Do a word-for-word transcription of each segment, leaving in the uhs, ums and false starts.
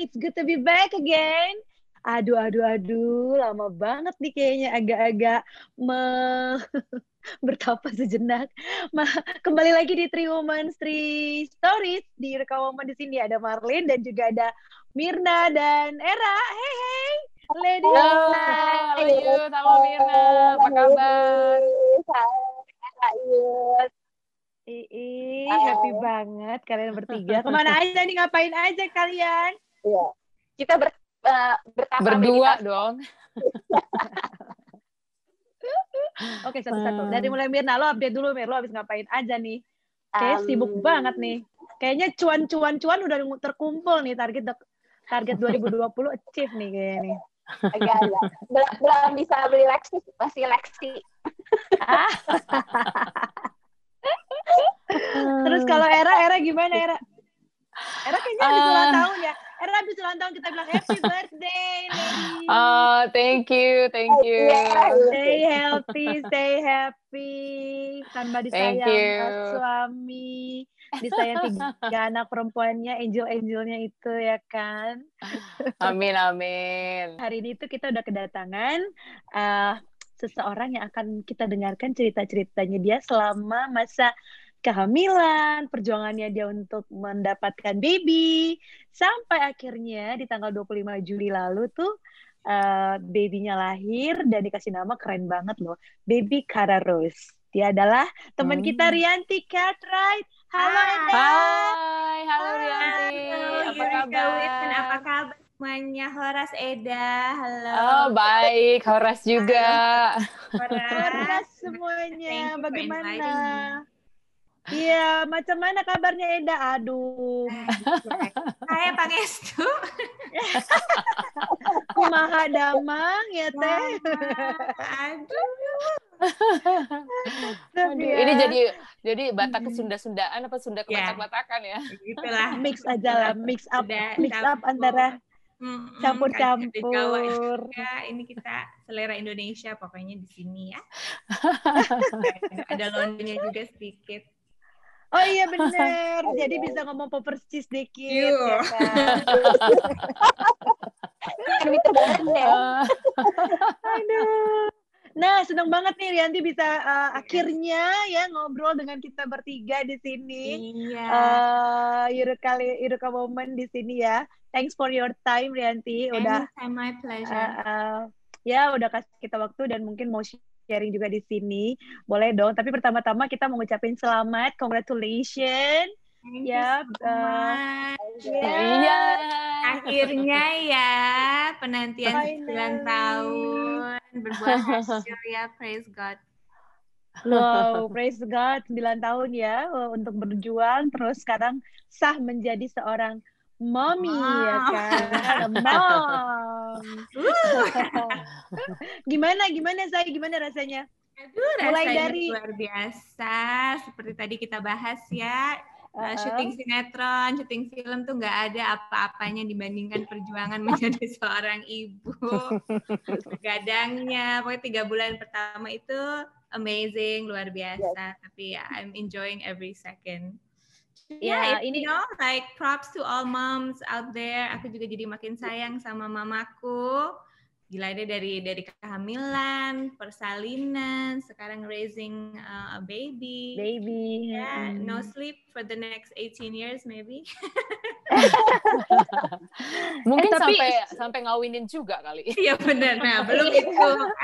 it's good to be back again. Aduh, aduh, aduh, lama banget nih kayaknya agak-agak me bertapa sejenak. Ma kembali lagi di Three Women, Three Stories. Di rekaman di sini ada Marlin dan juga ada Mirna dan Era. Hey, hey, ladies. Halo, halo Yud, halo Mirna, apa kabar? Ih, happy banget kalian bertiga. Kemana aja nih, ngapain aja kalian? Iya, kita ber, uh, bertapa Berdua meditasi. dong. Oke, satu-satu. Dari mulai Mirna, lo update dulu Mir, lo habis ngapain aja nih? Kayaknya Um, sibuk banget nih. Kayaknya cuan-cuan-cuan udah terkumpul nih, target target dua ribu dua puluh achieve nih kayaknya nih. Agak-agak. Belum, belum bisa beli Lexi, masih Lexi. Ah. Terus kalau Era, Era gimana Era? Era kayaknya habis Uh, ulang tahun ya. Era habis ulang tahun kita bilang happy birthday, lady. Oh, thank you, thank you. Stay healthy, stay happy. Tambah Thank disayang you. uh, suami, disayang tiga anak perempuannya, angel-angelnya itu ya kan. Amin, amin. Hari ini tuh kita udah kedatangan uh, seseorang yang akan kita dengarkan cerita-ceritanya dia selama masa kehamilan, perjuangannya dia untuk mendapatkan baby, sampai akhirnya di tanggal dua puluh lima Juli lalu tuh uh, babynya lahir dan dikasih nama keren banget loh, Baby Kara Rose. Dia adalah teman Hmm. kita Rianti Cartwright. Halo Eda. Hai, halo Rianti. Halo, Apa Yurika kabar? Witan, apa kabar semuanya? Horas Eda, halo. Oh, baik. Horas juga. Horas. Horas semuanya. Thank you for Bagaimana? inviting me. Iya, macam mana kabarnya Eda? Aduh. Saya Pangestu. Kumaha damang ya teh. Aduh. Aduh, Ya. ini jadi jadi Batak ke Sunda-Sundaan apa Sunda ke Ya. Batak-Batakan ya? Begitulah. Mix aja lah, mix up, Sudah mix up campur. antara Mm-mm, campur-campur. Ya, ini kita selera Indonesia pokoknya di sini ya. Ada Londonnya juga sedikit. Oh iya bener, jadi bisa ngomong persis dikit Yo. ya kan. Kan terbaru ya. Aduh. Nah, senang banget nih Rianti bisa uh, akhirnya ya ngobrol dengan kita bertiga di sini. Iya. Uh, Eureka, Eureka Woman di sini ya. Thanks for your time Rianti. Udah Anytime, my pleasure. uh, uh, ya udah kasih kita waktu dan mungkin mau sharing juga di sini. Boleh dong. Tapi pertama-tama kita mau ngucapin selamat, congratulations. Thank Ya, you so uh, much. ya. Iya. Akhirnya ya, penantian Finally. sembilan tahun berbuah hasil ya, praise God. Wow, praise God, sembilan tahun ya uh, untuk berjuang, terus sekarang sah menjadi seorang mommy Mom. ya kan, mom. Gimana, gimana saya, gimana rasanya? Aduh, Mulai rasanya dari- luar biasa. Seperti tadi kita bahas ya, uh, Uh-uh. syuting sinetron, syuting film tuh nggak ada apa-apanya dibandingkan perjuangan menjadi seorang ibu. Terus begadangnya, pokoknya tiga bulan pertama itu amazing, luar biasa. Tapi ya, I'm enjoying every second. Ya, Yeah, ini- you know, like props to all moms out there. Aku juga jadi makin sayang sama mamaku. Gila deh, dari dari kehamilan, persalinan, sekarang raising uh, a baby. Baby. Yeah, Hmm. no sleep for the next eighteen years maybe. Mungkin Eh, tapi- sampai sampai ngawinin juga kali. Iya benar. Nah, belum itu.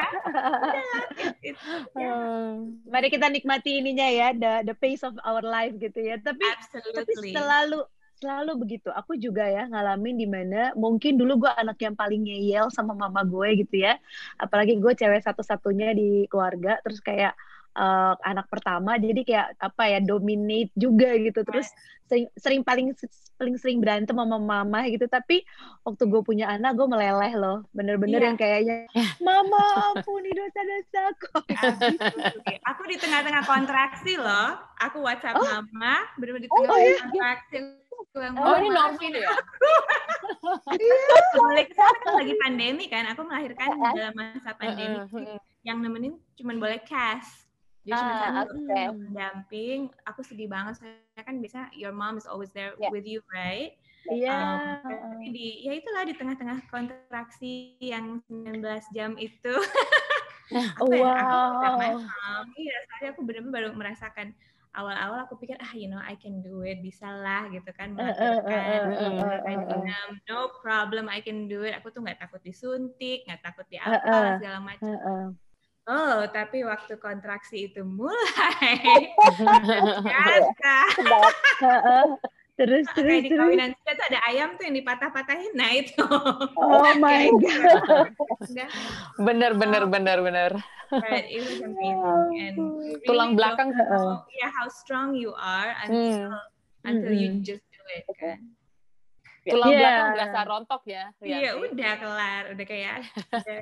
Hmm. Mari kita nikmati ininya ya, the the pace of our life gitu ya. Tapi tapi Absolutely. selalu selalu begitu. Aku juga ya ngalamin di mana mungkin dulu gue anak yang paling ngeyel sama mama gue gitu ya. Apalagi gue cewek satu-satunya di keluarga, terus kayak uh, anak pertama, jadi kayak apa ya, dominate juga gitu. Terus sering, sering paling paling sering berantem sama mama gitu. Tapi waktu gue punya anak, gue meleleh loh. Bener-bener Iya. yang kayaknya, mama ampuni dosa-dosaku. Absolutely. Aku di tengah-tengah kontraksi loh. Aku WhatsApp Oh. mama, benar-benar di Oh, tengah-tengah iya. kontraksi. Aku yang, Oh, ini "Mama, normal ya? Mulai kesana kan lagi pandemi kan, aku melahirkan dalam masa pandemi. Heeh, heeh. Yang nemenin cuma boleh cash. Jadi cuma Ah, satu oke. pendamping. Aku sedih banget soalnya kan biasa your mom is always there Yeah. with you, right? Iya. Um, tapi di ya itulah di tengah-tengah kontraksi yang sembilan belas jam itu. aku yang aku udah Wow. paham. Iya, soalnya aku benar-benar baru merasakan awal-awal aku pikir ah you know I can do it, bisa lah gitu kan Eh, eh, eh, melahirkan. eh, eh, eh, Sampai eh, eh. enam, no problem, I can do it. Aku tuh nggak takut disuntik, nggak takut di Eh, apa eh, segala macam. eh, eh. Oh, tapi waktu kontraksi itu mulai biasa. Eh, eh. Terus, terus, Kayak di terus. kawinan kita tuh ada ayam tuh yang dipatah-patahin, nah itu. Oh my God. Enggak, Bener, bener, bener, bener. but it was amazing and you really Tulang don't belakang. know, yeah, how strong you are until Hmm. until you Mm-mm. just do it kan. Tulang Iya. belakang berasa rontok ya. Iya, Rianti. udah kelar, udah kayak udah.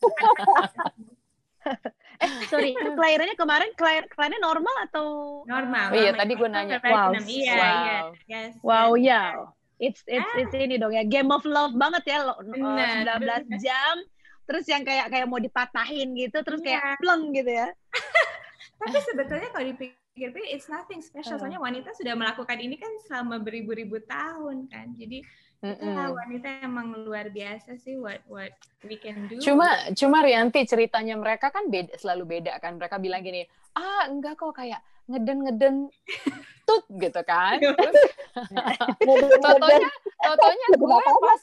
Eh, sorry, kelahirannya kemarin kelahir, kelahirannya normal atau Normal. Oh iya, normal. tadi gue Aku nanya. kelahiran Wow. enam. Iya, Wow. iya. Yes, wow yes. ya, it's it's it's ini dong ya, Game of Love banget ya, lo, uh, Benar, sembilan belas benar. jam, terus yang kayak kayak mau dipatahin gitu, terus Iya. kayak pleng gitu ya. Tapi sebetulnya kalau dipikir-pikir it's nothing special. Uh. Soalnya wanita sudah melakukan ini kan selama beribu-ribu tahun kan. Jadi itulah Mm-mm. wanita emang luar biasa sih what what we can do. Cuma, cuma Rianti ceritanya mereka kan beda, selalu beda kan. Mereka bilang gini, ah enggak kok kayak ngeden-ngeden tut gitu kan. Terus totonya, totonya gue pas,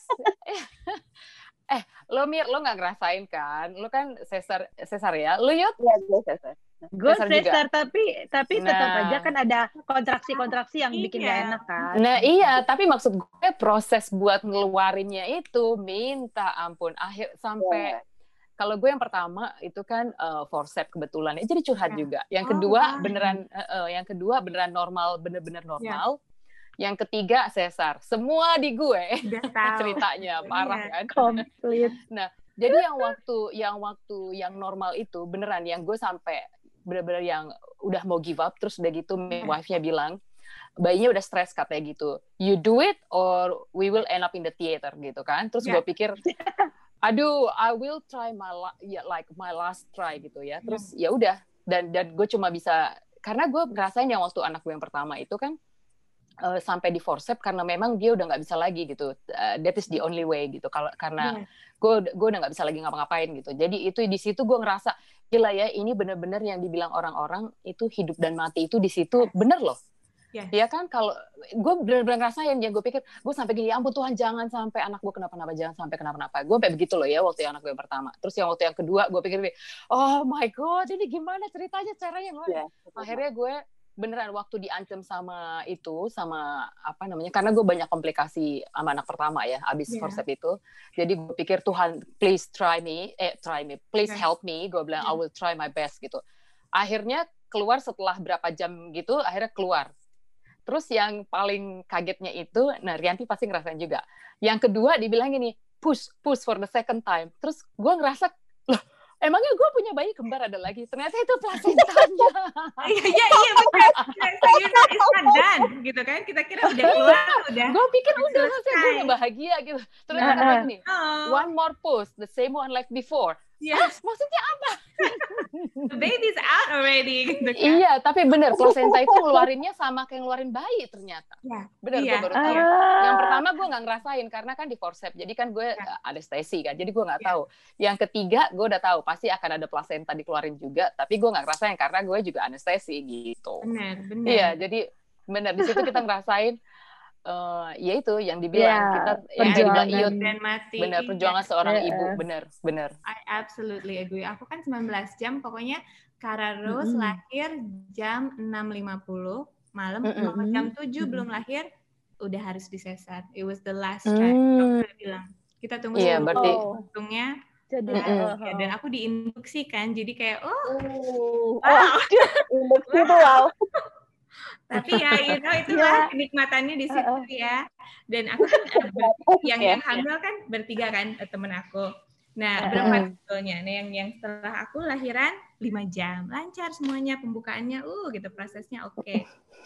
eh lo Mir, lo nggak ngerasain kan? Lo kan sesar, sesar ya? Lo Yud? Iya, biasa. Gue Sesar juga. sesar, tapi tapi tetap Nah. aja kan ada kontraksi-kontraksi yang bikin Iya. gak enak kan. Nah iya, tapi maksud gue proses buat ngeluarinnya itu minta ampun. Akhir sampai kalau gue yang pertama itu kan uh, forceps kebetulan, jadi curhat Ya. juga. Yang Oh, kedua wow. beneran, uh, uh, yang kedua beneran normal, bener-bener normal. Yang ketiga sesar. Semua di gue Udah tahu. ceritanya parah Iya. kan. Komplit. Jadi yang waktu yang waktu yang normal itu beneran yang gue sampai bener-bener yang udah mau give up, terus udah gitu midwife-nya bilang bayinya udah stres katanya gitu, you do it or we will end up in the theater gitu kan. Terus Yeah. gue pikir aduh I will try my la- ya, like my last try gitu ya. Terus ya udah dan dan gue cuma bisa karena gue ngerasain yang waktu anak gue yang pertama itu kan uh, sampai di forceps karena memang dia udah nggak bisa lagi gitu. Uh, that is the only way gitu. Kalau karena Yeah. gue gue udah nggak bisa lagi ngapa-ngapain gitu. Jadi itu di situ gue ngerasa gila ya, ini bener-bener yang dibilang orang-orang itu hidup dan mati itu di situ bener loh. Yes. Ya kan, kalau gue bener-bener ngerasain ya, gue pikir gue sampai gini, ya ampun Tuhan jangan sampai anak gue kenapa-napa, jangan sampai kenapa-napa. Gue sampai begitu loh ya waktu yang anak gue yang pertama. Terus yang waktu yang kedua gue pikir, oh my god, ini gimana ceritanya, caranya gimana? Yeah. Akhirnya gue beneran waktu diancam sama itu, sama apa namanya, karena gue banyak komplikasi sama anak pertama ya, abis Yeah. forceps itu. Jadi gue pikir Tuhan, please try me, eh try me, please Okay. help me. Gue bilang I Yeah. will try my best gitu. Akhirnya keluar setelah berapa jam gitu, akhirnya keluar. Terus yang paling kagetnya itu, nah Rianti pasti ngerasain juga. Yang kedua dibilang gini, push, push for the second time. Terus gue ngerasa, loh, emangnya gue punya bayi kembar ada lagi? Ternyata itu plasentanya. Iya, iya, iya, benar. So you know it's not done, gitu kan. Kita kira udah keluar, udah. Gue pikir udah Selesai. selesai, gue udah bahagia gitu. Ternyata Nah, kata gini, Oh, one more push, the same one like before. yes, Ah, maksudnya apa? the baby's out already, gitu kan. Iya, tapi bener, plasenta itu ngeluarinnya sama kayak ngeluarin bayi ternyata. Iya. Bener, Iya. gue baru tahu. Ah. Yang pertama gue nggak ngerasain karena kan di forceps, jadi kan gue Ya. anestesi kan, jadi gue nggak Ya. tahu. Yang ketiga gue udah tahu pasti akan ada plasenta dikeluarin juga, tapi gue nggak ngerasain karena gue juga anestesi gitu. Benar, benar. Iya, jadi bener di situ kita ngerasain, uh, ya itu yang dibilang Ya, kita, yang dibilang perjuangan. Iyut, Dan mati. bener Iya. perjuangan seorang Iya. ibu, bener, bener. I absolutely agree. Aku kan sembilan belas jam, pokoknya Kara Rose Mm-mm. lahir jam enam lima puluh malam, Mm-mm. mau jam tujuh Mm-mm. belum lahir, udah harus disesar. It was the last try. Hmm. Dokter bilang, kita tunggu Iya, sepuluh berarti- Oh. untungnya. Jadi, Mm-mm. oh, Ya, dan aku diinduksi kan, jadi kayak, oh, Uh, wow. oh, induksi itu wow. Tapi ya, you know, itulah kenikmatannya di situ ya. Dan aku kan, eh, ber- yang, yang hamil kan bertiga kan, eh, temen aku. Nah, berempat sebetulnya. Nah, yang yang setelah aku lahiran lima jam, lancar semuanya, pembukaannya, uh, gitu prosesnya oke.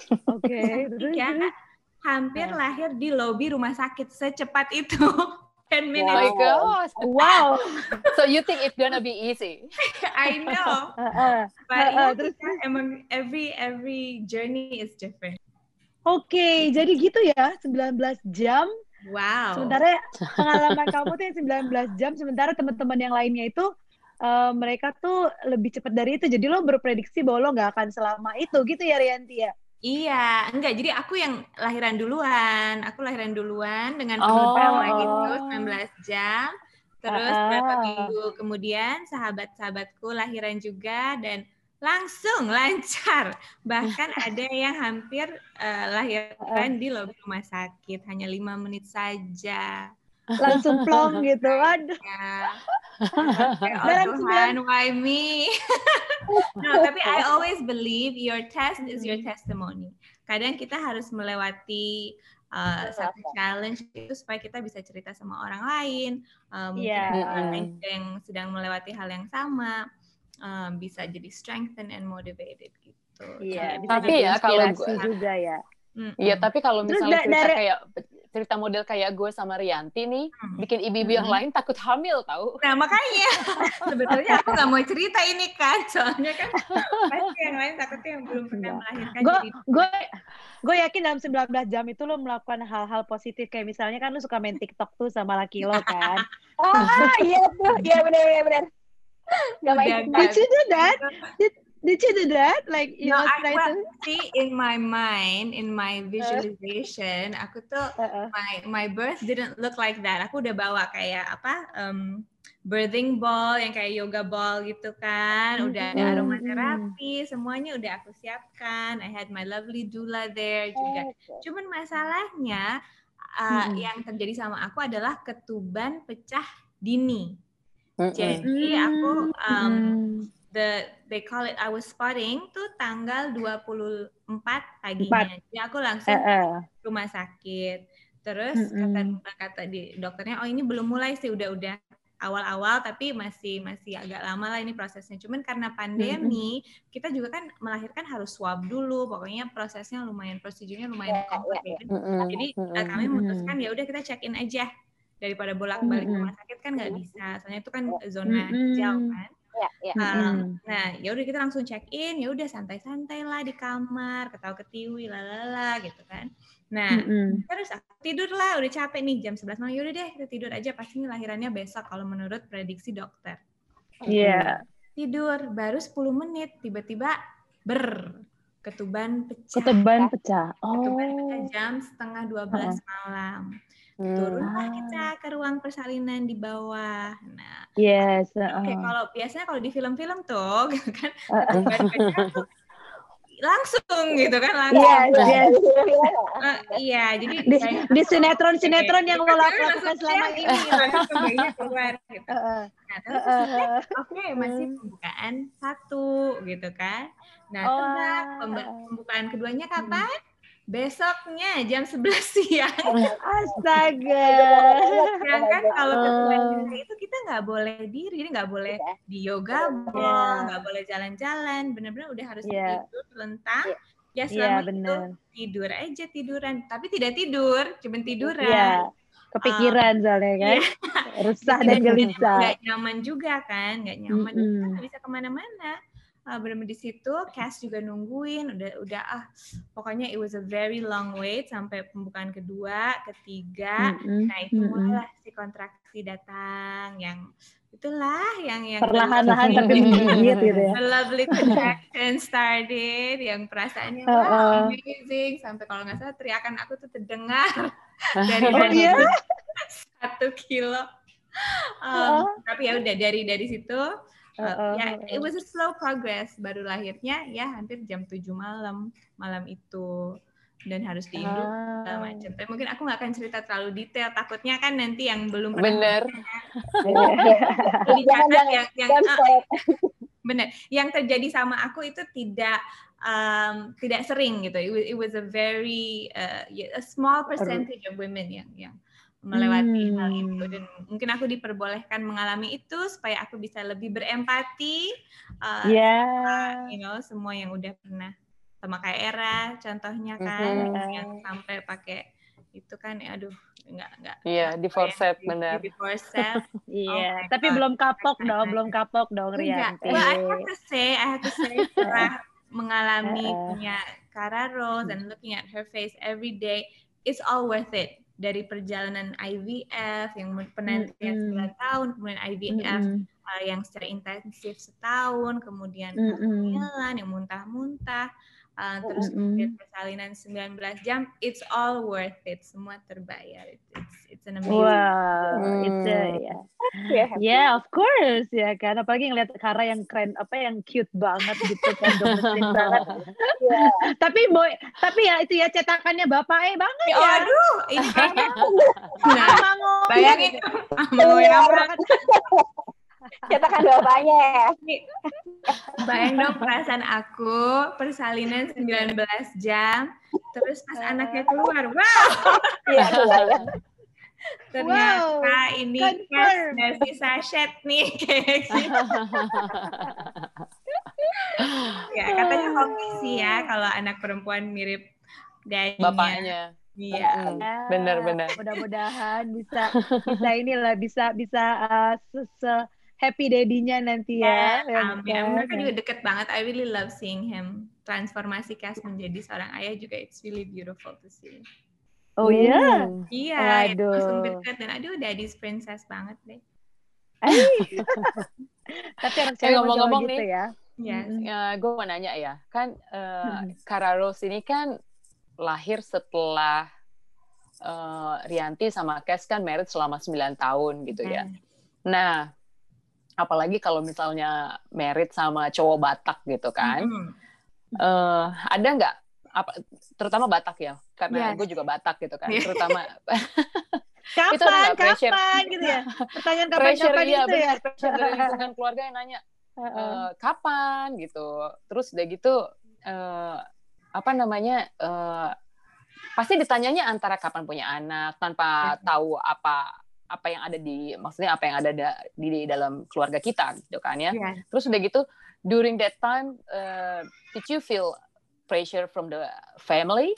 Oke, terus, Tiga, terus. hampir lahir di lobi rumah sakit secepat itu. ten Oh minutes. my gosh. Wow. So you think it's gonna be easy? I know. Heeh. But Heeh, yeah, terus kita emang every every journey is different. Oke, jadi gitu ya, sembilan belas jam. Wow. Sementara pengalaman kamu tuh yang sembilan belas jam, sementara teman-teman yang lainnya itu eh, mereka tuh lebih cepat dari itu. Jadi lo berprediksi bahwa lo nggak akan selama itu, gitu ya Rianti ya? Iya, enggak. Jadi aku yang lahiran duluan. Aku lahiran duluan dengan Oh. penuh itu Oh. sembilan belas jam. Terus Ah, ah. berapa minggu kemudian sahabat-sahabatku lahiran juga dan langsung lancar. Bahkan ada yang hampir uh, lahiran di lobi rumah sakit. Hanya lima menit saja. Langsung plong gitu. Aduh. Ya. Kayak, oh Dalam Tuhan, why me? No, tapi I always believe your test is your testimony. Kadang kita harus melewati uh, satu challenge itu supaya kita bisa cerita sama orang lain. Uh, mungkin Iya. ada orang lain juga yang sedang melewati hal yang sama, um, bisa jadi strengthened and motivated gitu. Iya, Jadi bisa Tapi jadi ya, kalau inspirasi gua- juga ya. Mm-mm. Iya, tapi kalau Terus misalnya da- cerita dari- kayak cerita model kayak gue sama Rianti nih, Hmm. bikin ibu-ibu yang lain takut hamil tahu. Nah makanya sebetulnya aku nggak mau cerita ini kan, soalnya kan pasti yang lain takutnya yang belum pernah melahirkan. Gue jadi gue gue yakin dalam sembilan belas jam itu lo melakukan hal-hal positif, kayak misalnya kan lo suka main TikTok tuh sama laki lo kan. Ah, iya tuh. Iya benar benar benar. Gak main Udah, TikTok. Did you do that? Did Did you do that? Like you No, know, I try well, to- see in my mind, in my visualization, aku tuh Uh-uh. my my birth didn't look like that. Aku udah bawa kayak apa um, birthing ball yang kayak yoga ball gitu kan. Udah ada Mm-mm. aromaterapi, semuanya udah aku siapkan. I had my lovely doula there juga. Cuman masalahnya uh, Mm-mm. yang terjadi sama aku adalah ketuban pecah dini. Mm-mm. Jadi aku um, Mm. the they call it I was spotting tuh tanggal dua puluh empat paginya. Jadi aku langsung Uh-uh. ke rumah sakit. Terus Mm-mm. kata kata di dokternya, oh ini belum mulai sih, udah-udah awal-awal tapi masih masih agak lama lah ini prosesnya. Cuman karena pandemi, kita juga kan melahirkan harus swab dulu. Pokoknya prosesnya lumayan, prosedurnya lumayan Ya, complicated. Mm-mm. Jadi Mm-mm. uh, kami memutuskan ya udah kita check in aja daripada bolak-balik Mm-mm. rumah sakit kan nggak bisa. Soalnya itu kan zona Mm-mm. hijau kan. Iya, iya. Um, Mm-mm. nah, ya udah kita langsung check in, ya udah santai-santai lah di kamar, ketawa-ketiwi, lalala gitu kan. Nah, Mm-mm. terus aku tidur lah, udah capek nih jam sebelas malam, ya udah deh kita tidur aja, pasti ini lahirannya besok kalau menurut prediksi dokter. Iya. Tidur baru sepuluh menit, tiba-tiba ber ketuban pecah. Ketuban pecah. Ketuban pecah Oh. jam setengah dua belas malam. Hmm. Turunlah Ah. kita ke ruang persalinan di bawah. Nah, Yes. Oke, uh-uh. kalau biasanya kalau di film-film tuh, gitu kan, Uh-uh. ketuban pecah tuh langsung gitu kan, langsung. Yes, yes. Eh, iya, jadi Di, kayak- di sinetron-sinetron yang lo Langsung lakukan selama ya, ini. langsung bayinya keluar gitu. Uh-uh. Nah, terus Uh-uh. oke masih pembukaan satu gitu kan. Nah, Oh. tebak pemba- pembukaan keduanya kapan? Besoknya jam sebelas siang. Astaga. Sedangkan kalau Oh. ketuban pecah itu kita nggak boleh diri, jadi nggak boleh di yoga ball, Yeah. nggak boleh jalan-jalan, benar-benar udah harus Yeah. tidur telentang. Ya Iya, selama itu benar. tidur aja tiduran, tapi tidak tidur, cuma tiduran. Iya. Kepikiran soalnya kan. Resah dan gelisah. Nggak nyaman juga kan, nggak nyaman, Mm-mm. kita nggak bisa kemana-mana. Uh, benar-benar di situ, Cass juga nungguin, udah udah ah, pokoknya it was a very long wait sampai pembukaan kedua, ketiga. Mm-mm. Nah itu Mm-mm. mulailah si kontraksi datang, yang itulah yang yang Perlahan-lahan tapi menggigit gitu ya. the lovely contraction started, yang perasaannya Uh-uh. wah amazing, sampai kalau nggak salah teriakan aku tuh terdengar dari Oh iya? satu kilo. Um, Tapi ya udah dari dari situ. Uh, Uh-uh. ya, it was a slow progress. Baru lahirnya ya hampir jam tujuh malam malam itu, dan harus diinduk Ah. segala macam. Tapi mungkin aku nggak akan cerita terlalu detail. Takutnya kan nanti yang belum pernah Bener. perlu dicatat Jangan, yang yang Jangan ah, spoil. benar. Yang terjadi sama aku itu tidak um, tidak sering gitu. It was, it was a very uh, a small percentage of women yang yang melewati Hmm. hal itu, dan mungkin aku diperbolehkan mengalami itu supaya aku bisa lebih berempati, uh, Ya. sama, you know, semua yang udah pernah sama kayak Era contohnya kan, Mhm. yang sampai pakai itu kan, ya, aduh nggak nggak Iya, di forset benar. di forset. Iya, my tapi God. belum kapok dong, belum kapok dong Enggak. Rianti. Well, I have to say, I have to say setelah mengalami Uh-uh. punya Cara Rose and looking at her face every day, it's all worth it. Dari perjalanan I V F yang penantian Mm-mm. sembilan tahun, kemudian I V F Mm-mm. uh, yang secara intensif setahun, kemudian Mm-mm. kehamilan yang muntah-muntah, uh, terus kemudian Mm-mm. persalinan sembilan belas jam, it's all worth it. Semua terbayar. It's it's, it's an amazing. Wow, Hmm. itu ya. Yeah. Yeah, of course ya kan. Apalagi ngeliat Kara yang keren, apa yang cute banget gitu kan, gemesin banget. Yeah. Tapi boy, tapi ya itu ya cetakannya bapak eh banget Oh, ya. aduh, ini kayaknya. Nah, Sama ngomong. bayangin mau yang Cetakan bapaknya ya. bayang dong perasaan aku persalinan sembilan belas jam, terus pas anaknya keluar, wow, Iya, kebayang. ternyata Wow, ini confirm. cash dari sachet nih kayak gitu. Ya katanya hoki sih ya kalau anak perempuan mirip daddy-nya. Bapaknya. Iya. Hmm, benar-benar. Mudah-mudahan bisa bisa inilah bisa bisa uh, se- se- happy daddy-nya nanti ya. ya Amin. kan? Mereka juga deket banget. I really love seeing him. Transformasi Cass menjadi seorang ayah juga it's really beautiful to see. Oh iya. Hmm. Iya, ya, Waduh. langsung deket dan aduh daddy's princess banget deh. Tapi anak Eh, cewek ngomong-ngomong gitu nih, ya. Yes. Mm-mm. Ya, gue mau nanya ya, kan uh, Mm-mm. Kara Rose ini kan lahir setelah uh, Rianti sama Cass kan married selama sembilan tahun gitu ya. Nah, apalagi kalau misalnya married sama cowok Batak gitu kan, Mm-hmm. uh, ada nggak, apa, terutama Batak ya, karena Yes. gue juga Batak gitu kan, Yeah. terutama Itu Kapan, enggak pressure. kapan gitu ya? Pertanyaan pressure kapan-kapan iya itu ya. benar, pressure dari lingkungan keluarga yang nanya Heeh. e, kapan gitu, terus udah gitu uh, apa namanya uh, pasti ditanyanya antara kapan punya anak tanpa tahu apa apa yang ada di maksudnya apa yang ada da, di, di dalam keluarga kita gitu kan ya. Yeah. Terus udah gitu during that time uh, did you feel pressure from the family?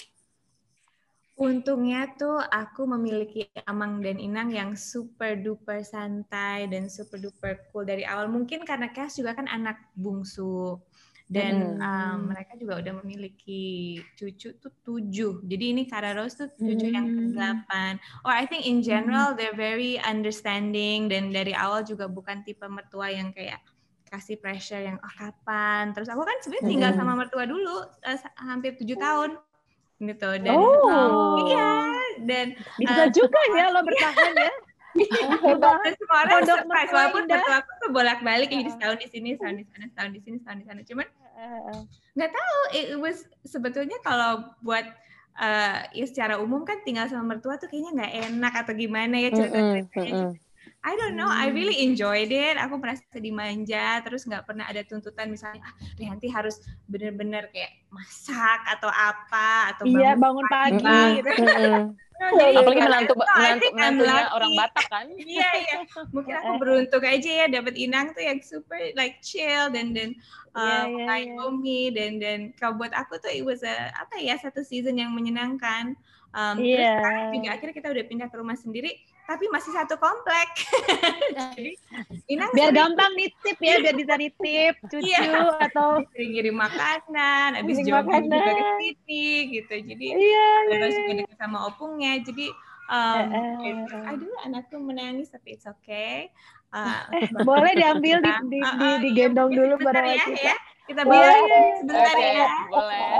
Untungnya tuh aku memiliki Amang dan Inang yang super duper santai dan super duper cool dari awal. Mungkin karena Cass juga kan anak bungsu dan Mm. um, mereka juga udah memiliki cucu tuh tujuh. Jadi ini Kara Rose tuh cucu yang Mm. kedelapan. Or I think in general they're very understanding dan dari awal juga bukan tipe mertua yang kayak kasih pressure yang oh kapan. Terus aku kan sebenarnya tinggal Mm. sama mertua dulu uh, hampir tujuh tahun. Gitu dan Oh. um, iya dan Bisa uh, juga ya lo bertahan ya. dan semua orang Pondok surprise mertua walaupun indah. mertua aku tuh bolak-balik jadi setahun di sini setahun di sana setahun di sini setahun di sana cuman nggak tahu it was sebetulnya kalau buat uh, ya secara umum kan tinggal sama mertua tuh kayaknya nggak enak atau gimana ya cerita-ceritanya. I don't know, I really enjoyed it. Aku merasa dimanja, terus nggak pernah ada tuntutan misalnya, ah, Rianti harus bener-bener kayak masak atau apa atau Iya, bangun bangun pagi Mm-mm. gitu. Mm-mm. No, jadi Apalagi kayak, menantu no, I menantu think I'm menantunya lucky. orang Batak kan. Iya iya, mungkin aku beruntung aja ya dapat Inang tuh yang super like chill dan dan Iya, uh, iya, mengayomi dan dan kalau buat aku tuh it was a apa ya satu season yang menyenangkan. Um, Terus Iya. sekarang juga akhirnya kita udah pindah ke rumah sendiri, tapi masih satu komplek. Jadi Inang Biar sering gampang nitip ya, biar bisa nitip cucu Iya. atau sering ngirim makanan, habis Kirim jogging juga ke makanan. sini gitu. Jadi iya. terus juga deket sama opungnya. Jadi um, Eh, eh, it's- eh. aduh anakku menangis tapi it's okay. Uh, Boleh diambil di, di, Uh, di, uh, digendong iya, dulu sebentar pada ya, waktu ya. Kita Boleh. bilang sebentar Oke, ya. boleh.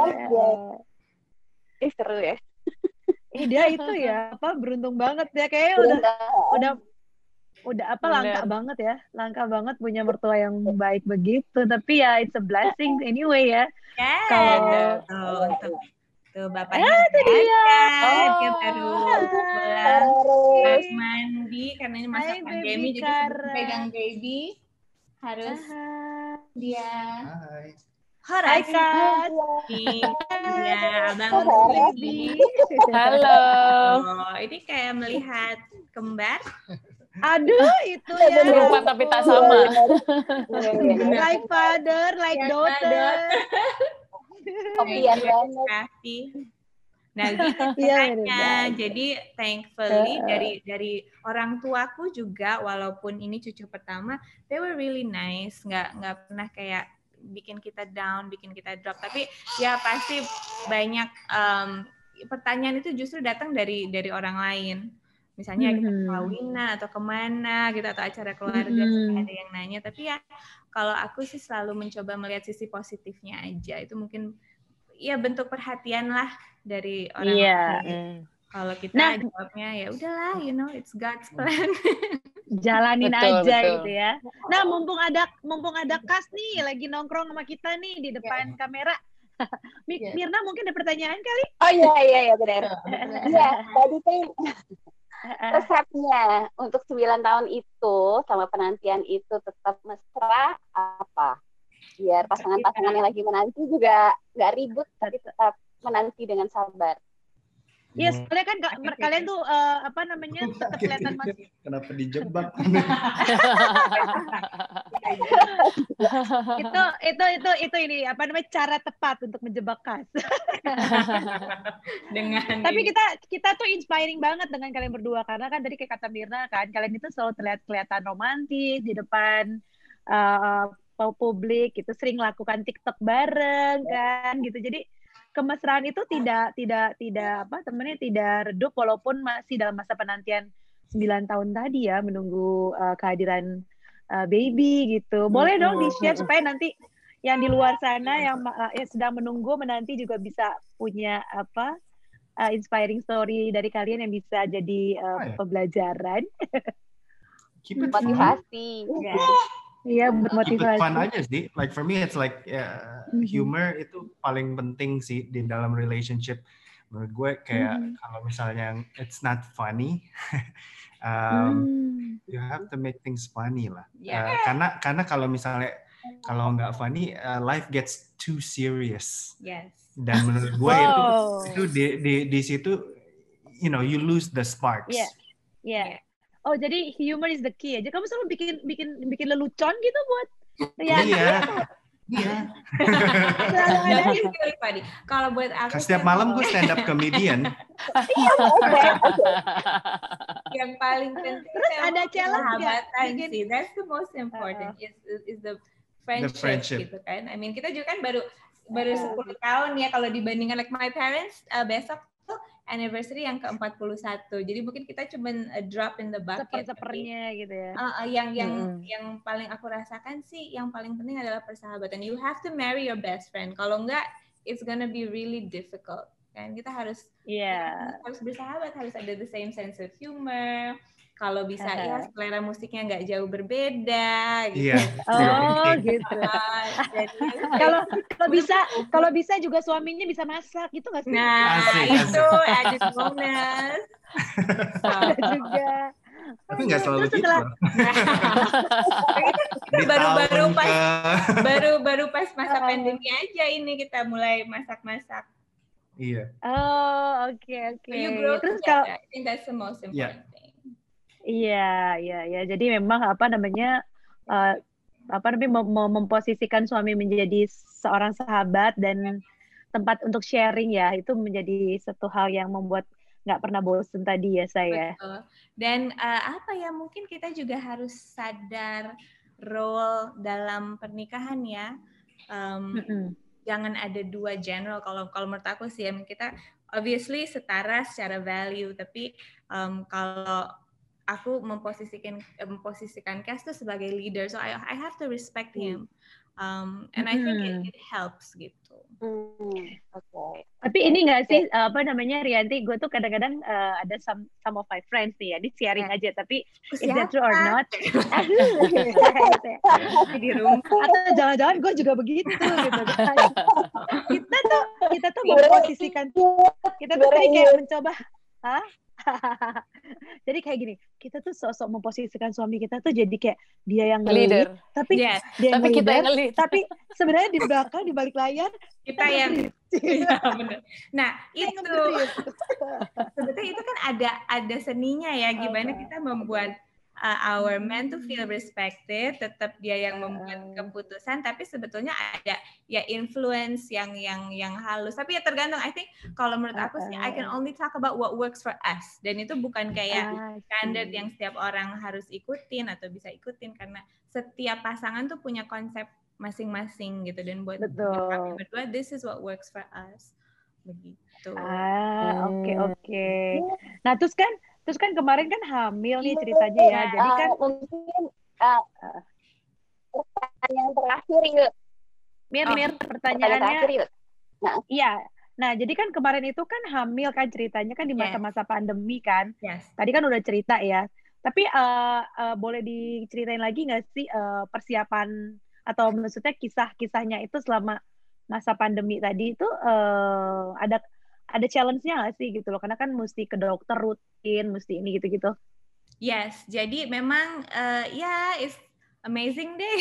Ih, seru ya. Ih, dia itu ya apa beruntung banget ya kayaknya udah udah udah apa Bener. langka banget ya, langka banget punya mertua yang baik begitu. Tapi ya it's a blessing anyway ya. Ya. Kalau- tuh, tuh, tuh bapaknya Ah, itu udah dia. ada, Oh. dia baru pulang harus mandi karena ini masa Hai, pandemi baby jadi sebelum Kara. pegang baby harus Aha. dia Hai. Hai Horas Kak. iya abang Horas. baby. Halo. Oh, ini kayak melihat kembar. Aduh itu ya. Serupa tapi tak sama. Like father, like Like daughter. Kopian banget. Kasih. Nah gitu Iya, caranya. bener Jadi thankfully banget. dari dari orang tuaku juga, walaupun ini cucu pertama, they were really nice, nggak nggak pernah kayak bikin kita down, bikin kita drop. Tapi ya pasti banyak um, pertanyaan itu justru datang dari dari orang lain. Misalnya kita Mhm. kawinan atau kemana gitu atau acara keluarga suka Mhm. ada yang nanya. Tapi ya kalau aku sih selalu mencoba melihat sisi positifnya aja. Itu mungkin ya bentuk perhatian lah dari orang Iya. lain. Mm. Kalau kita Nah, jawabnya ya udahlah, you know, it's God's plan. jalanin Betul, aja betul. gitu ya. Nah, mumpung ada mumpung ada Kas nih lagi nongkrong sama kita nih di depan kamera. Mi- Iya. Mirna mungkin ada pertanyaan kali? Oh iya iya iya benar. Iya, tadi kan resepnya untuk sembilan tahun itu sama penantian itu tetap mesra apa? Biar pasangan-pasangan yang lagi menanti juga nggak ribut tapi tetap menanti dengan sabar. Iya, soalnya kan ka- mer- kalian tuh eh, apa namanya tetap kelihatan mas. Kenapa dijebak? itu itu itu itu ini apa namanya cara tepat untuk menjebak Kas. Dengan Tapi ini. kita kita tuh inspiring banget dengan kalian berdua karena kan tadi kayak kata Mirna kan kalian itu selalu terlihat kelihatan romantis di depan uh, publik gitu, sering lakukan TikTok bareng kan gitu. Jadi kemesraan itu tidak tidak tidak apa temennya tidak redup walaupun masih dalam masa penantian sembilan tahun tadi ya menunggu uh, kehadiran uh, baby gitu. Boleh dong di-share supaya nanti yang di luar sana yang uh, yang sedang menunggu menanti juga bisa punya apa uh, inspiring story dari kalian yang bisa jadi uh, Oh, ya. pembelajaran. Keep it fun. Motivasi. Iya, buat Keep it fun motivasi. aja sih. Like for me, it's like uh, Mhm. humor itu paling penting sih di dalam relationship. Menurut gue kayak Mhm. kalau misalnya it's not funny, um, Hmm. you have to make things funny lah. Yeah. Uh, karena karena kalau misalnya kalau nggak funny, uh, life gets too serious. Yes. Dan menurut gue itu Wow. itu di di di situ, you know, you lose the sparks. Iya. Iya. Oh, jadi humor is the key aja. Kamu selalu bikin bikin bikin lelucon gitu buat Rianti. Iya. Iya. Selalu ada. That is really funny. Kalau buat aku Setiap malam gue stand up comedian. yang paling penting Terus saya ada mau challenge nggak? sahabatan Bikin- sih. That's the most important. Is is the friendship, friendship. gitu kan. I mean kita juga kan baru baru Uh. sepuluh tahun ya kalau dibandingkan like my parents uh, besok tuh anniversary yang ke empat puluh satu. Jadi mungkin kita cuman a drop in the bucket. Seper-sepernya gitu ya. Uh, uh, yang yang Mm-mm. yang paling aku rasakan sih yang paling penting adalah persahabatan. You have to marry your best friend. Kalau enggak, it's gonna be really difficult. Kan kita harus Iya. harus bersahabat, harus ada the same sense of humor. Kalau bisa Aha. ya selera musiknya nggak jauh berbeda. Gitu. Iya. Oh, gitu. Ah, jadi, Kalau kalau bisa kalau bisa juga suaminya bisa masak gitu nggak sih? nah Asik, itu added bonus. Ada juga. Tapi nggak selalu Terus gitu. setelah- loh. Kita Di baru-baru tahun pas ke- baru-baru pas masa Ah. pandemi aja ini kita mulai masak-masak. Iya. Oh, oke oke. So you grow Terus together. kalau I think that's the most important thing. iya, iya, iya. Jadi memang apa namanya eh, apa namanya mem- mem- memposisikan suami menjadi seorang sahabat dan tempat untuk sharing ya, itu menjadi satu hal yang membuat nggak pernah bosen tadi ya saya. Betul. Dan uh, apa ya mungkin kita juga harus sadar role dalam pernikahan ya. Um, Mm-mm. Jangan ada dua general. Kalau kalau menurut aku sih ya kita obviously setara secara value, tapi um, kalau aku memposisikan memposisikan Cass tuh sebagai leader, so I I have to respect him, um, and I think it, it helps gitu. Hmm, Oke. Tapi ini nggak sih apa namanya Rianti, gue tuh kadang-kadang eh, ada some some of my friends nih ya, di sharing aja, tapi is that true or not? Di rumah. Atau jangan-jangan gue juga begitu gitu kan. Kita tuh kita tuh memposisikan kita tuh jadi kayak mencoba, hah? Jadi kayak gini, kita tuh sosok memposisikan suami kita tuh jadi kayak dia yang Leader. nge-lead, tapi Yes. dia yang Tapi kita leader, yang nge-lead. tapi sebenarnya di belakang di balik layar Kita yang Iya, bener. Nah, yang itu nge-brief. sebetulnya itu kan ada ada seninya ya, gimana Apa? kita membuat uh, our men to feel respected, tetap dia yang membuat keputusan, tapi sebetulnya ada ya influence yang yang yang halus. Tapi ya tergantung. I think kalau menurut aku sih, I can only talk about what works for us. Dan itu bukan kayak standard yang setiap orang harus ikutin atau bisa ikutin, karena setiap pasangan tuh punya konsep masing-masing gitu. Dan buat, buat kami berdua, this is what works for us. Begitu. Ah, oke okay, oke. Okay. Nah, terus kan terus kan kemarin kan hamil nih ceritanya ya. Jadi kan uh, mungkin uh, pertanyaan terakhir yuk. Mir, oh, Mir, pertanyaannya. Terakhir, yuk. Nah. Iya. Nah, jadi kan kemarin itu kan hamil kan ceritanya kan di masa-masa yes. pandemi kan. Yes. Tadi kan udah cerita ya. Tapi uh, uh, boleh diceritain lagi nggak sih uh, persiapan atau maksudnya kisah-kisahnya itu selama masa pandemi tadi itu uh, ada ada challenge-nya nggak sih gitu loh, karena kan mesti ke dokter rutin, mesti ini gitu-gitu. Yes, jadi memang uh, ya yeah, it's amazing deh.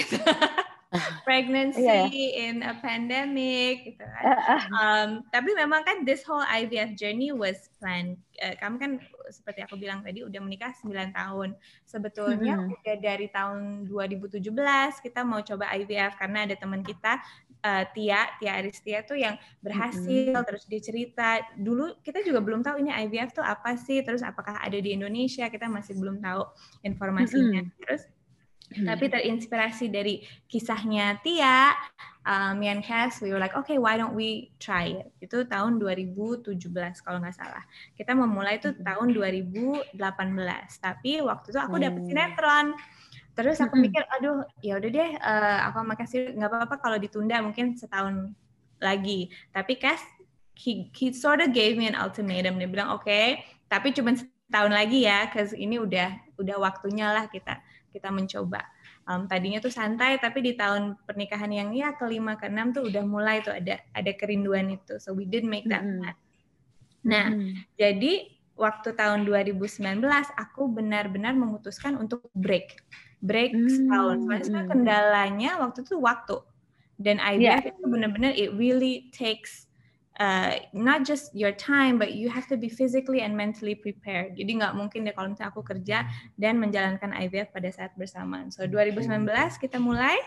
Pregnancy yeah. in a pandemic gitu kan. Um, tapi memang kan this whole I V F journey was planned. Uh, kamu kan seperti aku bilang tadi udah menikah sembilan tahun. Sebetulnya mm-hmm. udah dari tahun dua ribu tujuh belas kita mau coba I V F karena ada teman kita uh, Tia, Tia Aristia tuh yang berhasil, mm-hmm. terus dia cerita. Dulu kita juga belum tahu ini I V F tuh apa sih, terus apakah ada di Indonesia, kita masih belum tahu informasinya. Mm-hmm. Terus Hmm. Tapi terinspirasi dari kisahnya Tia, um, me and Cass, we were like, okay, why don't we try it? Itu tahun dua ribu tujuh belas kalau nggak salah. Kita memulai itu tahun dua ribu delapan belas. Tapi waktu itu aku dapet sinetron. Terus aku mikir, aduh, ya udah deh, uh, aku makasih nggak apa-apa kalau ditunda mungkin setahun lagi. Tapi Cass, he, he sort of gave me an ultimatum. Dia bilang, oke, okay, tapi cuma setahun lagi ya, cause ini udah udah waktunya lah kita. kita mencoba. Um, tadinya tuh santai, tapi di tahun pernikahan yang ya kelima keenam tuh udah mulai tuh ada ada kerinduan itu. So we did make that mm-hmm. plan. Nah, mm-hmm. jadi waktu tahun dua ribu sembilan belas aku benar-benar memutuskan untuk break, break mm-hmm. setahun. Soalnya kendalanya waktu itu waktu. Dan I V F yeah. itu benar-benar it really takes Uh, not just your time, but you have to be physically and mentally prepared. Jadi nggak mungkin deh kalau misalnya aku kerja dan menjalankan I V F pada saat bersamaan. So dua ribu sembilan belas kita mulai,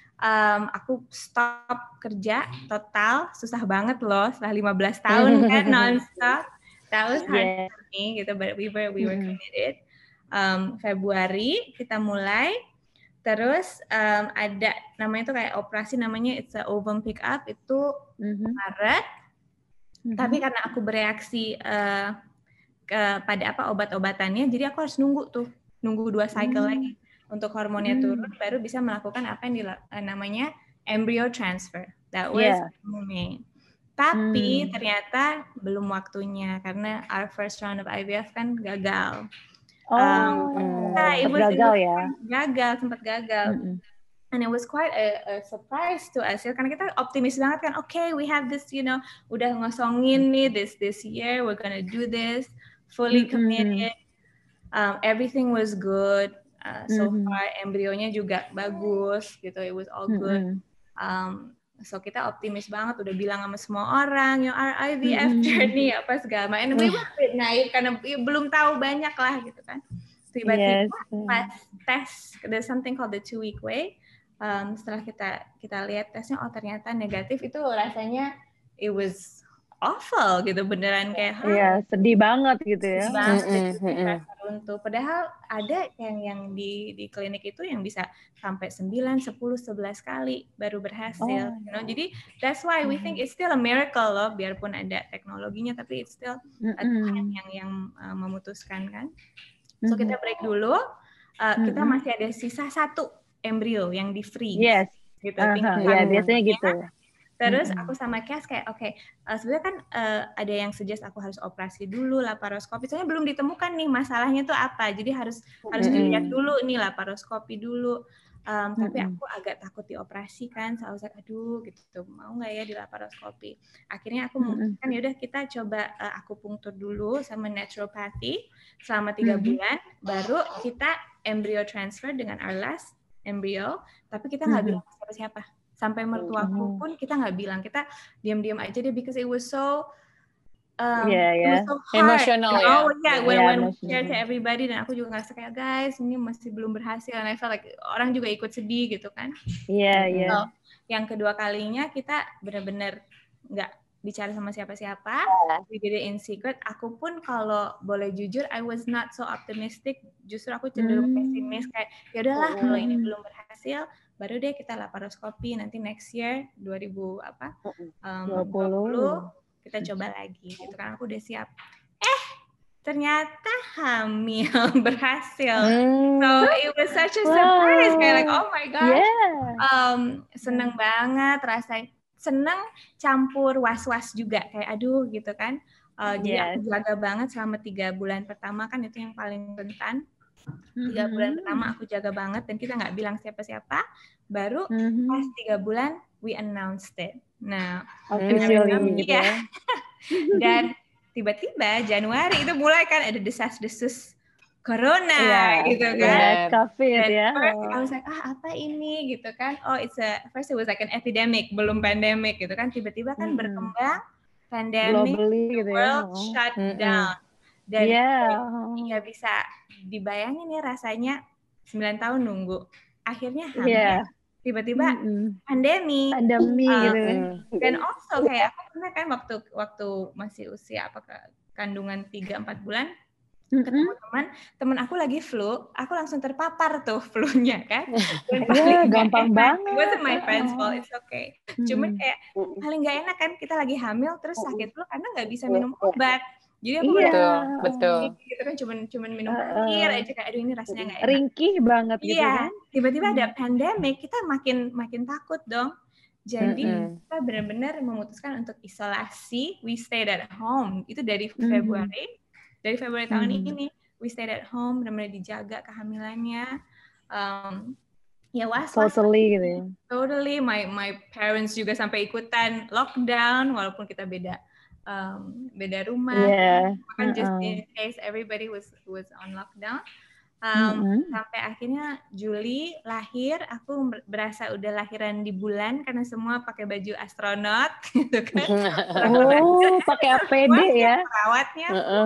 um, aku stop kerja total, susah banget loh setelah lima belas tahun kan non-stop. That was hard yeah. for me gitu, but we were we were committed. Um, Februari kita mulai. Terus um, ada namanya tuh kayak operasi namanya it's a ovum pick up itu mm-hmm. Maret. Mm-hmm. Tapi karena aku bereaksi uh, kepada apa obat-obatannya, jadi aku harus nunggu tuh, nunggu dua cycle mm-hmm. lagi untuk hormonnya mm-hmm. turun, baru bisa melakukan apa yang dila- namanya embryo transfer. That was yeah. May. Tapi mm. ternyata belum waktunya karena our first round of I V F kan gagal. Oh, um, nah, it was, gagal it was, ya? Gagal, sempat gagal. Mm-hmm. And it was quite a, a surprise to us ya, karena kita optimis banget kan, okay, we have this, you know, udah ngosongin nih this this year, we're gonna do this, fully committed, mm-hmm. um, everything was good, uh, so mm-hmm. far embryonya juga bagus, gitu, it was all good, mm-hmm. um, so kita optimis banget, udah bilang sama semua orang, yang our I V F mm-hmm. journey apa segala macam, and we were a bit naif karena ya, belum tahu banyak lah, gitu kan, tiba-tiba yes. pas tes, there's something called the two week way. Um, setelah kita kita lihat tesnya, oh ternyata negatif, itu rasanya it was awful gitu, beneran kayak iya, sedih banget gitu ya. Sedih banget, mm-hmm. rasa runtuh. Padahal ada yang yang di di klinik itu yang bisa sampai sembilan, sepuluh, sebelas kali baru berhasil. Oh. You know? Jadi that's why we think it's still a miracle loh, biarpun ada teknologinya, tapi it's still mm-hmm. Tuhan yang yang uh, memutuskan kan. So mm-hmm. kita break dulu. Uh, mm-hmm. Kita masih ada sisa satu embrio yang di freeze, yes, gitu. uh-huh. Ya biasanya gitu. Terus mm-hmm. aku sama Cass kayak, oke, okay, uh, sebenarnya kan uh, ada yang suggest aku harus operasi dulu, laparoskopi. Soalnya belum ditemukan nih masalahnya tuh apa. Jadi harus mm-hmm. harus dilihat dulu nih, laparoskopi dulu. Um, mm-hmm. Tapi aku agak takut dioperasi kan. Saya like, aduh, gitu. Mau nggak ya di laparoskopi? Akhirnya aku memutuskan, mm-hmm. yaudah kita coba uh, akupunktur dulu sama naturopathy selama tiga mm-hmm. bulan. Baru kita embryo transfer dengan our last embryo, tapi kita nggak mm-hmm. bilang siapa-siapa. Sampai mertuaku pun kita nggak bilang, kita diam-diam aja deh, because it was so um, yeah, it yeah. was so hard. Emotional ya. Oh yeah, when Yeah, when we emotional. share to everybody, dan aku juga ngerasa kayak guys ini masih belum berhasil, and I felt like orang juga ikut sedih gitu kan. Iya, Mm-mm. iya. So, yang kedua kalinya kita benar-benar nggak bicara sama siapa-siapa. We did it in secret. Aku pun kalau boleh jujur, I was not so optimistic. Justru aku cenderung Hmm. pesimis kayak ya udahlah kalau ini Hmm. belum berhasil, baru deh kita laparoskopi nanti next year dua ribu apa um, dua puluh. dua puluh kita coba lagi gitu kan. Aku udah siap. Eh ternyata hamil berhasil. Hmm. So it was such a surprise. Wow. Kayak like oh my gosh. Yeah. Um, seneng banget rasanya. Seneng campur was-was juga kayak aduh gitu kan. Uh, jadi aku Yes. jaga banget selama tiga bulan pertama kan itu yang paling rentan. Tiga bulan Mhm. pertama aku jaga banget dan kita nggak bilang siapa-siapa. Baru Mhm. pas tiga bulan we announced it. Nah, Officially Hmm. gitu Iya. ya. dan tiba-tiba Januari itu mulai kan ada desas-desus corona Iya, gitu kan. Benar. Iya, COVID Dan ya. first I was like, ah apa ini gitu kan. Oh it's a, first it was like an epidemic, belum pandemic gitu kan. Tiba-tiba kan Mm-mm. berkembang, pandemic, Globally gitu ya. world Oh. shut Mm-mm. down. Dan Iya. ya bisa dibayangin ya rasanya sembilan tahun nunggu. Akhirnya hamil, Iya. tiba-tiba Mm-mm. pandemi. Pandemi Uh, gitu kan. Mm-mm. Dan also kayak aku pernah kan waktu waktu masih usia apa kandungan tiga empat bulan ketemu Mm-mm. teman, teman aku lagi flu, aku langsung terpapar tuh flu-nya kan. Dan Iya, paling nggak gampang enak, banget. it wasn't my friend's fault, it's okay. Cuman Mm-mm. kayak paling nggak enak kan kita lagi hamil terus sakit flu karena nggak bisa minum obat. Jadi aku Iya. Betul, betul. gitu kan cuman cuman minum Uh-uh. air aja kayak aduh ini rasanya nggak enak. Ringkih banget gitu Iya, kan. tiba-tiba ada pandemic, kita makin makin takut dong. Jadi Mm-mm. kita benar-benar memutuskan untuk isolasi. We stayed at home. Itu dari Mhm. Februari, dari Februari tahun Mhm. ini. We stayed at home, benar-benar dijaga kehamilannya. Um, ya was-was. Totally gitu ya. Totally. My my parents juga sampai ikutan lockdown, walaupun kita beda um, beda rumah. Iya. Kan just Uh-uh. in case everybody was was on lockdown. Um, Mm-mm. sampai akhirnya Juli lahir, aku berasa udah lahiran di bulan karena semua pakai baju astronot gitu kan. Oh, pakai A P D ya. Perawatnya Uh-uh,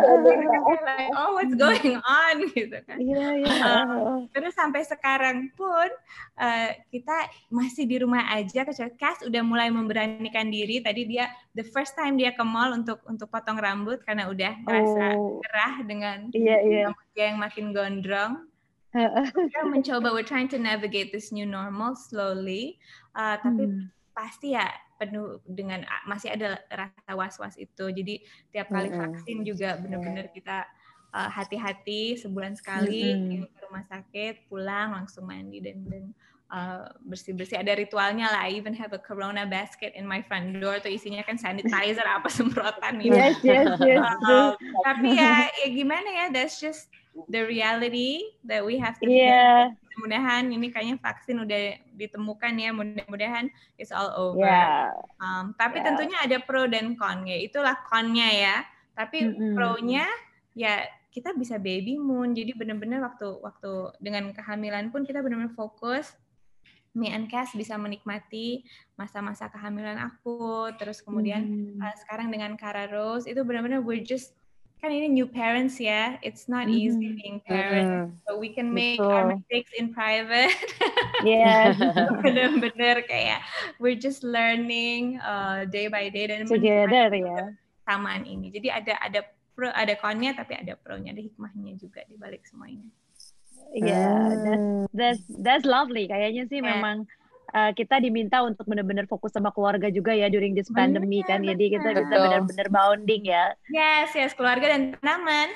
like, oh what's going on gitu kan. Iya, iya. Um, terus sampai sekarang pun uh, kita masih di rumah aja. Kecuali Cass udah mulai memberanikan diri. Tadi dia the first time dia ke mall untuk untuk potong rambut karena udah ngerasa Oh. gerah dengan Iya, iya. rambutnya yang makin gondrong. Kita mencoba, we're trying to navigate this new normal slowly, uh, tapi Hmm. pasti ya penuh dengan masih ada rasa was-was itu. Jadi tiap kali Mm-mm. vaksin juga benar-benar kita uh, hati-hati sebulan sekali Mm-mm. ke rumah sakit, pulang langsung mandi dan dan uh, bersih-bersih. Ada ritualnya lah. I even have a corona basket in my front door. Tuh isinya kan sanitizer apa semprotan gitu. Yes, yes, yes. Uh, tapi ya, ya gimana ya? That's just the reality that we have to face. Iya. Mudah-mudahan ini kayaknya vaksin udah ditemukan ya, mudah-mudahan it's all over. Ya. Um, tapi Yeah. tentunya ada pro dan con ya. Itulah connya ya. Tapi Mm-mm. pro-nya ya kita bisa baby moon. Jadi benar-benar waktu waktu dengan kehamilan pun kita benar-benar fokus. Me and Cass bisa menikmati masa-masa kehamilan aku. Terus kemudian Mm. uh, sekarang dengan Kara Rose itu benar-benar we're just kan ini new parents ya, it's not Mhm. easy being parents, Mm-mm. so we can make Betul. our mistakes in private. Yes. Bener-bener kayak we're just learning uh, day by day dan Together menikmati ya. kesamaan ini. Jadi ada ada pro, ada connya tapi ada pro-nya, ada hikmahnya juga di balik semua ini. Iya, that's, Hmm. that's that's lovely. Kayaknya sih Yeah. memang uh, kita diminta untuk benar-benar fokus sama keluarga juga ya during this Bener, pandemic kan. Jadi kita bisa betul. benar-benar bonding ya. Yes, yes, keluarga dan tanaman.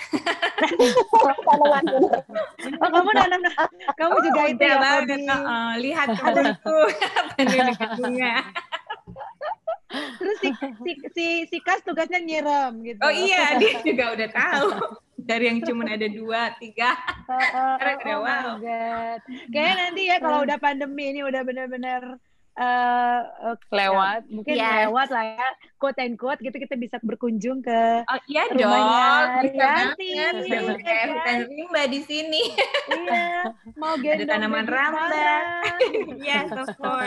Oh, kamu nanam, kamu juga itu Udah ya, banget. hobi. Uh-uh. Lihat temanku penuh bunga. Terus si si si, si Kas tugasnya nyiram gitu. Oh iya, dia juga udah tahu. Dari yang cuma ada dua, tiga. Uh, uh, Sekarang uh, udah oh wow. my god. Kayaknya nanti ya kalau udah pandemi ini udah benar-benar uh, uh, Lewat. ya, mungkin Yes. lewat lah ya, quote and quote gitu kita bisa berkunjung ke Oh iya rumahnya dong, bisa Rianti, banget. Udah ya kayak kan? hutan rimba di sini. Iya, mau gendong tanaman baby ramba. Sarah. Yes, of course.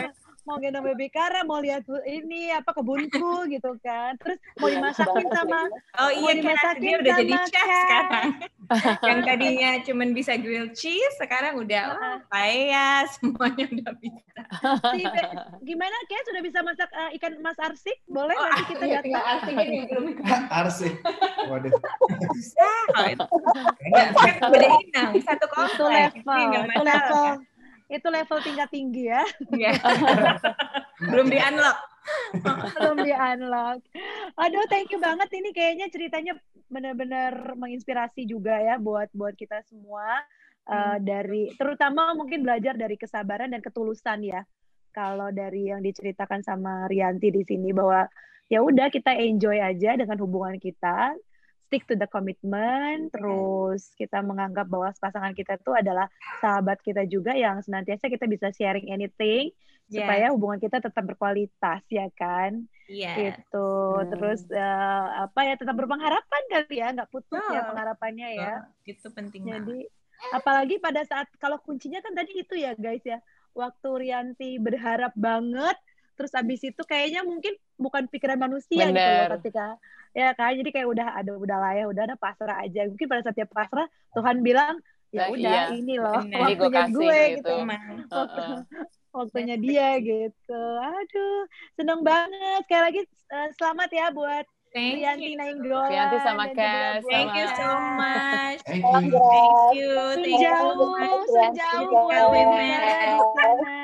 mau gendong baby Kara, mau lihat ini apa kebunku gitu kan. Terus mau dimasakin sama Oh mau iya, kan dia dimasakin udah jadi sama chef Kat. sekarang. Yang tadinya cuman bisa grilled cheese, sekarang udah oh, paella, semuanya udah bisa. Si Be- gimana Kat sudah bisa masak uh, ikan mas arsik? Boleh Oh, nanti kita iya, datang. tinggal arsik ini belum Arsik. Waduh. susah. Oh, itu. Ya, kan beda inang, satu Itu komplek. level, Ini nggak itu masalah, level, kan? itu level tingkat tinggi ya. Iya. Belum di unlock. Belum di unlock. Aduh, thank you banget ini kayaknya ceritanya benar-benar menginspirasi juga ya buat buat kita semua. Uh, dari terutama mungkin belajar dari kesabaran dan ketulusan ya. Kalau dari yang diceritakan sama Rianti di sini bahwa ya udah kita enjoy aja dengan hubungan kita, stick to the commitment, terus kita menganggap bahwa pasangan kita itu adalah sahabat kita juga yang senantiasa kita bisa sharing anything Yes. supaya hubungan kita tetap berkualitas ya kan. Iya. Gitu. Hmm. Terus uh, apa ya tetap berpengharapan kali ya, nggak putus Oh. ya pengharapannya ya. Oh, itu penting banget. Jadi apalagi pada saat kalau kuncinya kan tadi itu ya guys ya, waktu Rianti berharap banget, terus abis itu kayaknya mungkin bukan pikiran manusia gitu loh Bener. ketika ya kan, jadi kayak udah ada udah lah ya, udah ada pasrah aja. Mungkin pada saat dia pasrah Tuhan bilang ya Nah, udah iya. ini loh Bener. Ini gue waktunya kasih gue gitu. gitu. Emang. Waktu, Uh-uh. waktunya dia gitu. Aduh, seneng banget. Sekali lagi uh, selamat ya buat Thank Rianti you. Nainggolan Rianti sama dan juga Cass, buat Thank you sama- so much. Thank Salam you. Grace. Thank you. Thank you so Sejauh, much. sejauh Grace. buat Women. Negara di sana.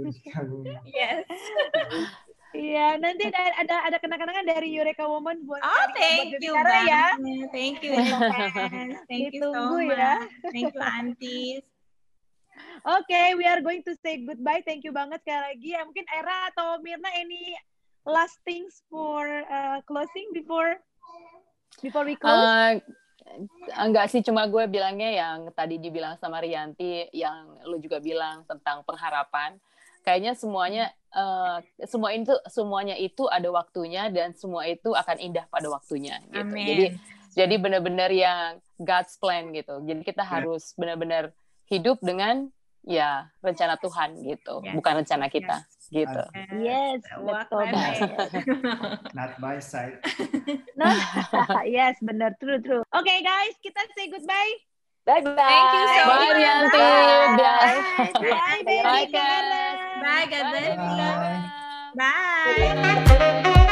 Yes. Iya, nanti ada ada, ada kenang-kenangan dari Eureka Woman buat Oh, sharing thank buat you Negara ya. banget. Thank you, Inez. Thank you so Ditunggu much. ya. Thank you, aunties. Oke, we are going to say goodbye. Thank you banget sekali lagi. Ya, mungkin Era atau Mirna, any last things for uh, closing before before we close? Uh, enggak sih, cuma gue bilangnya yang tadi dibilang sama Rianti, yang lu juga bilang tentang pengharapan. Kayaknya semuanya, uh, semua itu semuanya itu ada waktunya dan semua itu akan indah pada waktunya. Gitu. Amin. Jadi, jadi benar-benar yang God's plan gitu. Jadi kita harus benar-benar hidup dengan ya rencana Tuhan gitu, Yes. bukan rencana kita gitu. Yes, Walk betul by banget. Not by side. Nah, yes, benar, true, true. Oke okay, guys, kita say goodbye. Bye bye. Thank you so Bye, much. Rianti. Bye. Bye. Bye, baby Bye, Kara. Cass. Bye, God bless you. Bye. Bye.